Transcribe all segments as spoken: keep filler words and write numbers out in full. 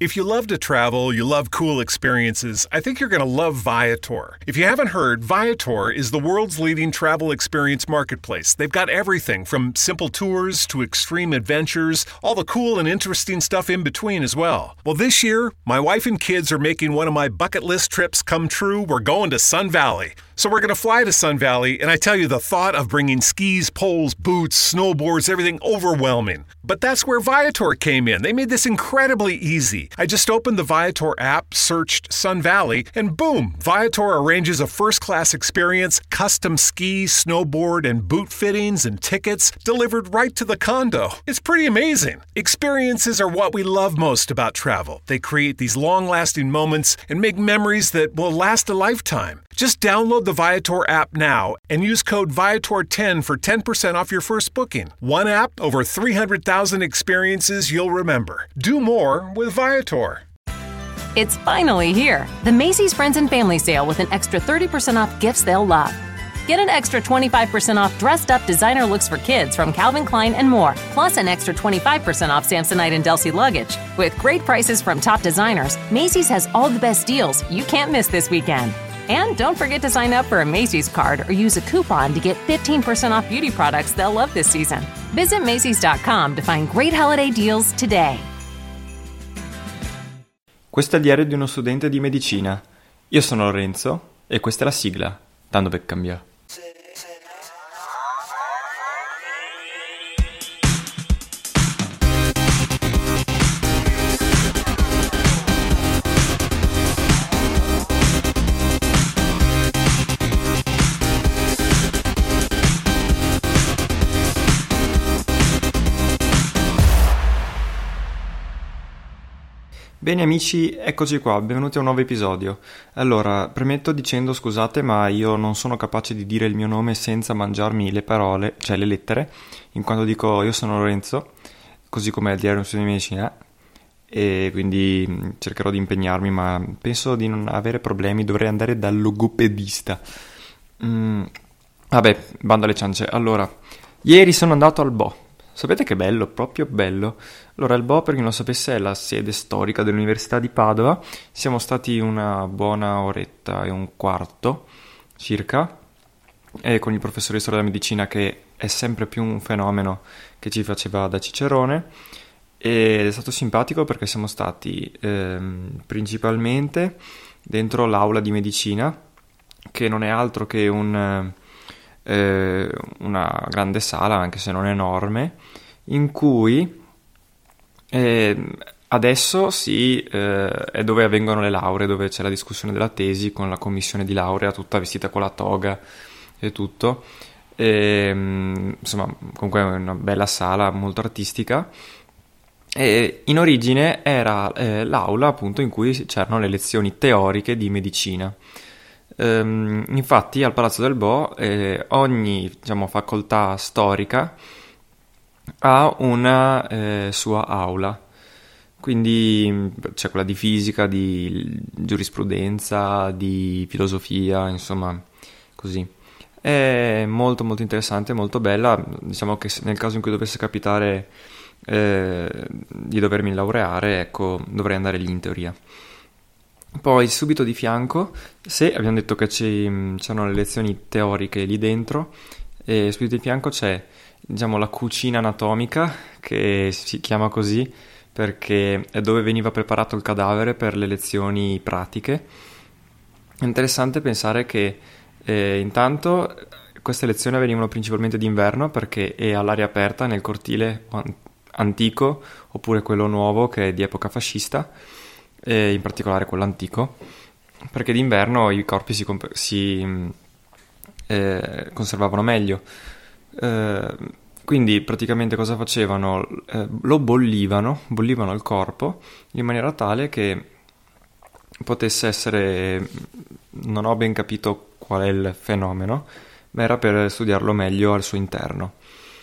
If you love to travel, you love cool experiences, I think you're going to love Viator. If you haven't heard, Viator is the world's leading travel experience marketplace. They've got everything from simple tours to extreme adventures, all the cool and interesting stuff in between as well. Well, this year, my wife and kids are making one of my bucket list trips come true. We're going to Sun Valley. So we're going to fly to Sun Valley, and I tell you, the thought of bringing skis, poles, boots, snowboards, everything overwhelming. But that's where Viator came in. They made this incredibly easy. I just opened the Viator app, searched Sun Valley, and boom, Viator arranges a first-class experience, custom ski, snowboard, and boot fittings and tickets delivered right to the condo. It's pretty amazing. Experiences are what we love most about travel. They create these long-lasting moments and make memories that will last a lifetime. Just download the Viator app now and use code Viator ten for ten percent off your first booking. One app, over three hundred thousand experiences you'll remember. Do more with Viator. It's finally here, the Macy's Friends and Family Sale with an extra thirty percent off gifts they'll love. Get an extra twenty-five percent off dressed-up designer looks for kids from Calvin Klein and more, plus an extra twenty-five percent off Samsonite and Delsey luggage. With great prices from top designers, Macy's has all the best deals you can't miss this weekend. And don't forget to sign up for a Macy's card or use a coupon to get fifteen percent off beauty products they'll love this season. Visit Macy's dot com to find great holiday deals today. Questo è il diario di uno studente di medicina. Io sono Lorenzo e questa è la sigla, tanto per cambiare. Bene amici, eccoci qua, benvenuti a un nuovo episodio. Allora, premetto dicendo scusate, ma io non sono capace di dire il mio nome senza mangiarmi le parole, cioè le lettere, in quanto dico io sono Lorenzo, così come il diario di uno studente di medicina, e quindi cercherò di impegnarmi, ma penso di non avere problemi, dovrei andare dal logopedista. Mm, vabbè, bando alle ciance. Allora, ieri sono andato al Bo. Sapete che bello, proprio bello. Allora, il Bo, per chi non lo sapesse, è la sede storica dell'Università di Padova. Siamo stati una buona oretta e un quarto circa, e con il professore di storia della medicina, che è sempre più un fenomeno, che ci faceva da cicerone, ed è stato simpatico perché siamo stati ehm, principalmente dentro l'aula di medicina, che non è altro che un... Eh, una grande sala, anche se non enorme, in cui eh, adesso sì, eh, è dove avvengono le lauree, dove c'è la discussione della tesi con la commissione di laurea tutta vestita con la toga e tutto, e, insomma, comunque è una bella sala molto artistica. E in origine era eh, l'aula appunto in cui c'erano le lezioni teoriche di medicina. Um, infatti al Palazzo del Bo eh, ogni diciamo, facoltà storica ha una eh, sua aula, quindi c'è quella di fisica, di giurisprudenza, di filosofia, insomma così. È molto molto interessante, molto bella. Diciamo che nel caso in cui dovesse capitare eh, di dovermi laureare, ecco, dovrei andare lì in teoria. Poi subito di fianco, se abbiamo detto che ci, c'erano le lezioni teoriche lì dentro, e subito di fianco c'è, diciamo, la cucina anatomica, che si chiama così perché è dove veniva preparato il cadavere per le lezioni pratiche. È interessante pensare che eh, intanto queste lezioni avvenivano principalmente d'inverno, perché è all'aria aperta nel cortile antico, oppure quello nuovo che è di epoca fascista, e in particolare quello antico, perché d'inverno i corpi si, comp- si eh, conservavano meglio. Eh, quindi praticamente cosa facevano? Eh, lo bollivano, bollivano il corpo in maniera tale che potesse essere, non ho ben capito qual è il fenomeno, ma era per studiarlo meglio al suo interno.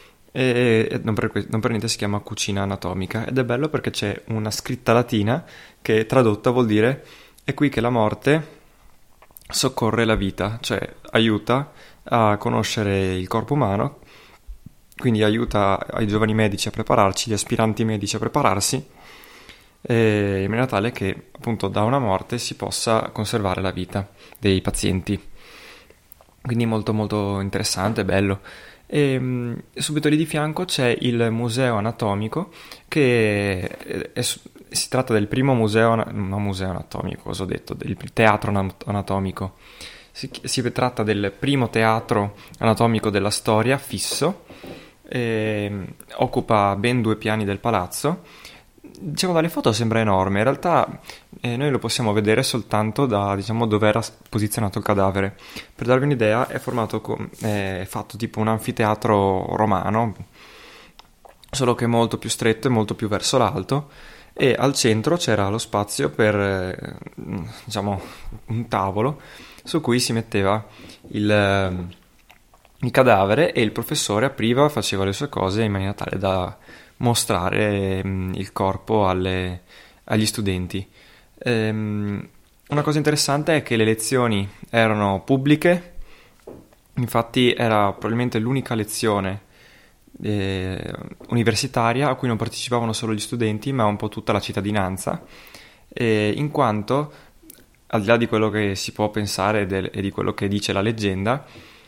E non per, non per niente si chiama cucina anatomica, ed è bello perché c'è una scritta latina che tradotta vuol dire: è qui che la morte soccorre la vita, cioè aiuta a conoscere il corpo umano, quindi aiuta ai giovani medici a prepararci, gli aspiranti medici a prepararsi eh, in maniera tale che appunto da una morte si possa conservare la vita dei pazienti. Quindi molto molto interessante, bello. E mh, subito lì di fianco c'è il museo anatomico, che è, è, si tratta del primo museo, no museo anatomico, cosa ho detto, del teatro anatomico. Si, si tratta del primo teatro anatomico della storia, fisso, e occupa ben due piani del palazzo. Diciamo, dalle foto sembra enorme, in realtà eh, noi lo possiamo vedere soltanto da, diciamo, dove era posizionato il cadavere. Per darvi un'idea, è formato com- è fatto tipo un anfiteatro romano, solo che molto più stretto e molto più verso l'alto, e al centro c'era lo spazio per eh, diciamo un tavolo su cui si metteva il, il cadavere, e il professore apriva, faceva le sue cose in maniera tale da mostrare mh, il corpo alle, agli studenti. Ehm, una cosa interessante è che le lezioni erano pubbliche, infatti era probabilmente l'unica lezione eh, universitaria a cui non partecipavano solo gli studenti, ma un po' tutta la cittadinanza, eh, in quanto, al di là di quello che si può pensare del, e di quello che dice la leggenda,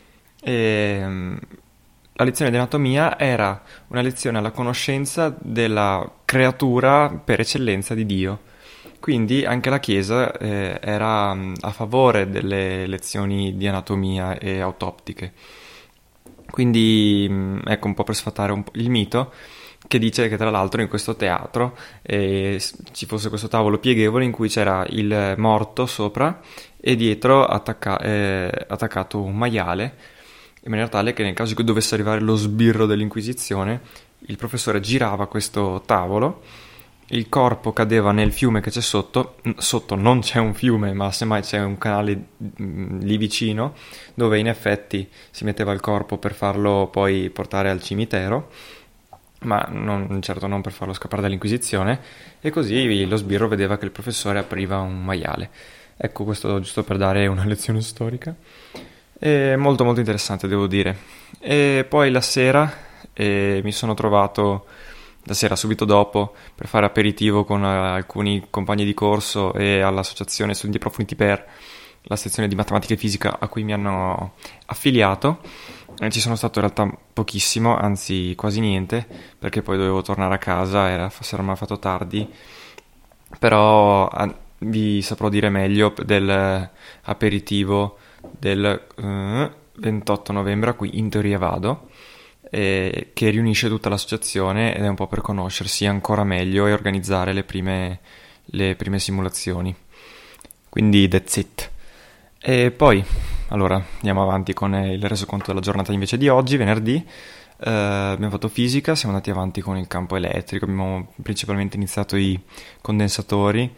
ehm, la lezione di anatomia era una lezione alla conoscenza della creatura per eccellenza di Dio. Quindi anche la Chiesa eh, era mh, a favore delle lezioni di anatomia e autoptiche. Quindi mh, ecco, un po' per sfatare un po' il mito, che dice che tra l'altro in questo teatro eh, ci fosse questo tavolo pieghevole in cui c'era il morto sopra e dietro attacca- eh, attaccato un maiale, in maniera tale che nel caso in cui dovesse arrivare lo sbirro dell'Inquisizione, il professore girava questo tavolo, il corpo cadeva nel fiume che c'è sotto, sotto non c'è un fiume, ma semmai c'è un canale lì vicino, dove in effetti si metteva il corpo per farlo poi portare al cimitero, ma non, certo non per farlo scappare dall'Inquisizione, e così lo sbirro vedeva che il professore apriva un maiale. Ecco, questo giusto per dare una lezione storica. È molto molto interessante, devo dire. E poi la sera eh, mi sono trovato, la sera subito dopo, per fare aperitivo con uh, alcuni compagni di corso e all'associazione Studenti Approfonditi per la sezione di matematica e fisica a cui mi hanno affiliato. E ci sono stato in realtà pochissimo, anzi quasi niente, perché poi dovevo tornare a casa, era, si era fatto tardi, però uh, vi saprò dire meglio del aperitivo del uh, ventotto novembre a cui in teoria vado, eh, che riunisce tutta l'associazione ed è un po' per conoscersi ancora meglio e organizzare le prime, le prime simulazioni. Quindi that's it. E poi allora andiamo avanti con il resoconto della giornata invece di oggi, venerdì. Uh, abbiamo fatto fisica, siamo andati avanti con il campo elettrico, abbiamo principalmente iniziato i condensatori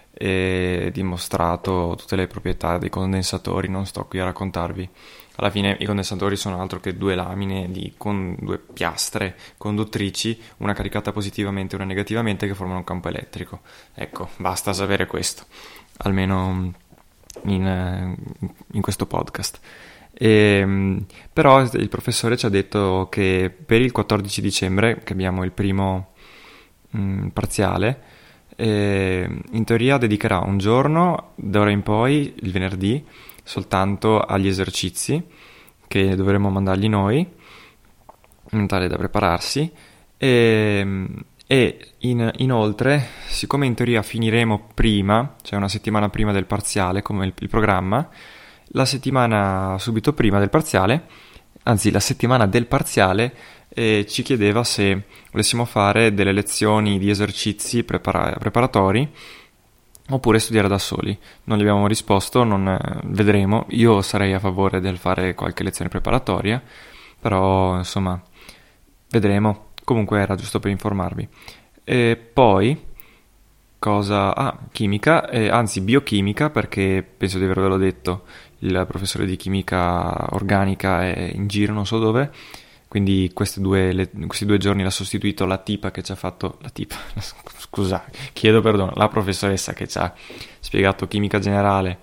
e dimostrato tutte le proprietà dei condensatori. Non sto qui a raccontarvi, alla fine i condensatori sono altro che due lamine di, con due piastre conduttrici, una caricata positivamente e una negativamente, che formano un campo elettrico. Ecco, basta sapere questo, almeno in, in questo podcast. E, però il professore ci ha detto che per il quattordici dicembre, che abbiamo il primo mh, parziale, e in teoria dedicherà un giorno d'ora in poi, il venerdì, soltanto agli esercizi che dovremo mandargli noi, in tale da prepararsi, e, e in, inoltre, siccome in teoria finiremo prima, cioè una settimana prima del parziale come il, il programma, la settimana subito prima del parziale, anzi la settimana del parziale, e ci chiedeva se volessimo fare delle lezioni di esercizi prepara- preparatori oppure studiare da soli. Non gli abbiamo risposto, non eh, vedremo. Io sarei a favore del fare qualche lezione preparatoria, però insomma vedremo. Comunque era giusto per informarvi. E poi cosa? Ah, chimica, eh, anzi biochimica, perché penso di avervelo detto, il professore di chimica organica è in giro non so dove, quindi queste due, le, questi due giorni l'ha sostituito la tipa che ci ha fatto, la tipa, scusa, chiedo perdono, la professoressa che ci ha spiegato chimica generale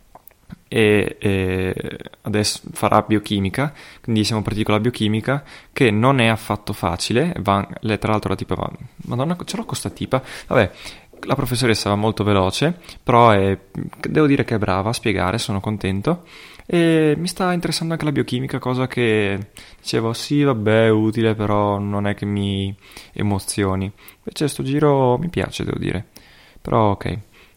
e, e adesso farà biochimica, quindi siamo partiti con la biochimica, che non è affatto facile. Va, lei, tra l'altro la tipa va, madonna ce l'ho con sta tipa, vabbè, la professoressa va molto veloce, però è, devo dire che è brava a spiegare, sono contento. E mi sta interessando anche la biochimica, cosa che dicevo sì vabbè è utile, però non è che mi emozioni. Invece sto giro mi piace, devo dire, però ok.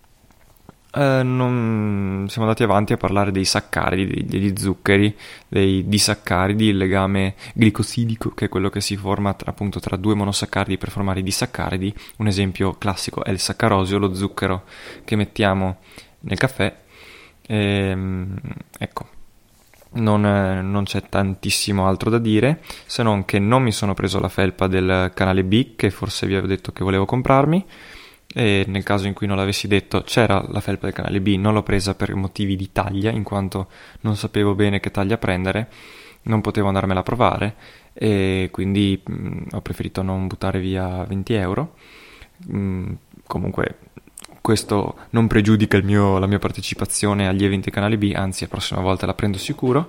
Eh, non... Siamo andati avanti a parlare dei saccaridi, degli zuccheri, dei disaccaridi, il legame glicosidico, che è quello che si forma tra, appunto tra due monosaccaridi per formare i disaccaridi. Un esempio classico è il saccarosio, lo zucchero che mettiamo nel caffè. Ehm, ecco, non, non c'è tantissimo altro da dire, se non che non mi sono preso la felpa del canale B, che forse vi avevo detto che volevo comprarmi, e nel caso in cui non l'avessi detto c'era la felpa del canale B, non l'ho presa per motivi di taglia, in quanto non sapevo bene che taglia prendere, non potevo andarmela a provare, e quindi mh, ho preferito non buttare via venti euro. Mh, comunque questo non pregiudica il mio, la mia partecipazione agli eventi canale B, anzi la prossima volta la prendo sicuro.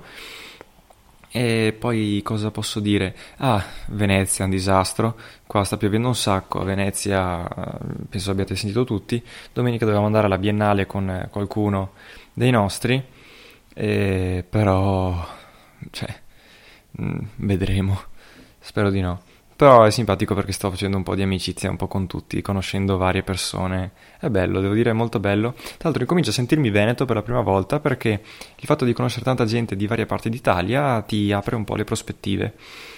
E poi cosa posso dire? Ah, Venezia è un disastro, qua sta piovendo un sacco, a Venezia penso abbiate sentito tutti. Domenica dovevamo andare alla Biennale con qualcuno dei nostri, e però cioè mh, vedremo, spero di no. Però è simpatico perché sto facendo un po' di amicizia un po' con tutti, conoscendo varie persone. È bello, devo dire, è molto bello. Tra l'altro incomincio a sentirmi veneto per la prima volta, perché il fatto di conoscere tanta gente di varie parti d'Italia ti apre un po' le prospettive.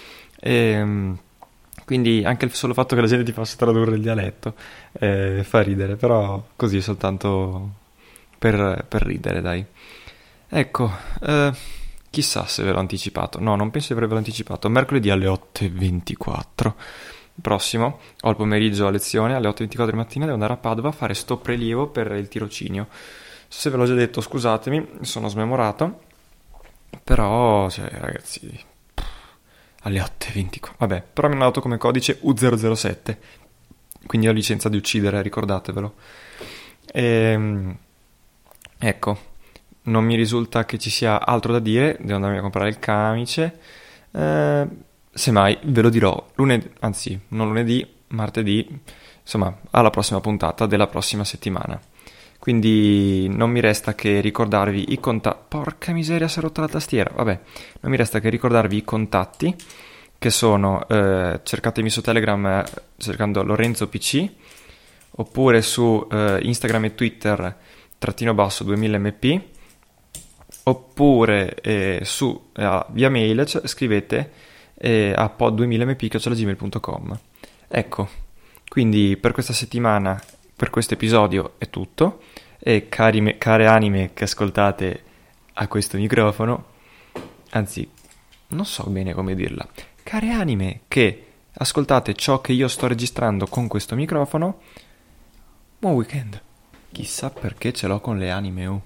E quindi anche il solo fatto che la gente ti possa tradurre il dialetto eh, fa ridere, però così soltanto per, per ridere, dai. Ecco, eh... chissà se ve l'ho anticipato. No, non penso di avervelo anticipato. Mercoledì alle otto e ventiquattro prossimo ho il pomeriggio a lezione, alle otto e ventiquattro di mattina devo andare a Padova a fare sto prelievo per il tirocinio. Se ve l'ho già detto scusatemi, sono smemorato, però cioè ragazzi pff, alle otto e ventiquattro, vabbè, però mi hanno dato come codice U zero zero sette, quindi ho licenza di uccidere, ricordatevelo. E, ecco, non mi risulta che ci sia altro da dire, devo andarmi a comprare il camice, eh, semmai ve lo dirò lunedì, anzi non lunedì, martedì, insomma alla prossima puntata della prossima settimana. Quindi non mi resta che ricordarvi i contatti, porca miseria si è rotta la tastiera, vabbè, non mi resta che ricordarvi i contatti, che sono, eh, cercatemi su Telegram eh, cercando Lorenzo P C, oppure su eh, Instagram e Twitter trattino basso duemila M P, oppure eh, su eh, via mail cioè, scrivete eh, a pod duemila m p chiocciola gmail punto com. Ecco, quindi per questa settimana, per questo episodio è tutto, e cari me, care anime che ascoltate a questo microfono, anzi non so bene come dirla, care anime che ascoltate ciò che io sto registrando con questo microfono, buon weekend. Chissà perché ce l'ho con le anime, oh.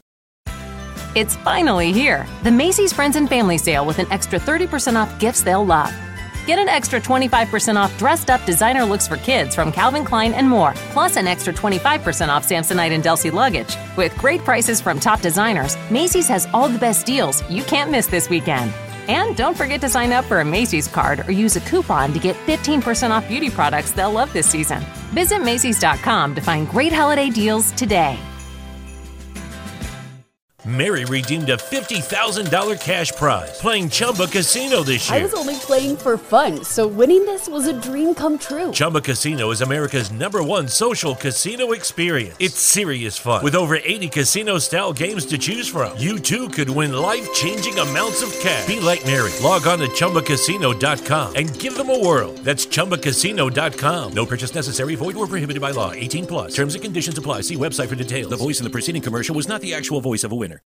It's finally here, the Macy's Friends and Family Sale with an extra thirty percent off gifts they'll love. Get an extra twenty-five percent off dressed-up designer looks for kids from Calvin Klein and more, plus an extra twenty-five percent off Samsonite and Delsey luggage. With great prices from top designers, Macy's has all the best deals you can't miss this weekend. And don't forget to sign up for a Macy's card or use a coupon to get fifteen percent off beauty products they'll love this season. Visit Macy's dot com to find great holiday deals today. Mary redeemed a fifty thousand dollars cash prize playing Chumba Casino this year. I was only playing for fun, so winning this was a dream come true. Chumba Casino is America's number one social casino experience. It's serious fun. With over eighty casino-style games to choose from, you too could win life-changing amounts of cash. Be like Mary. Log on to Chumba Casino dot com and give them a whirl. That's Chumba Casino dot com. No purchase necessary. Void or prohibited by law. eighteen plus. Terms and conditions apply. See website for details. The voice in the preceding commercial was not the actual voice of a winner.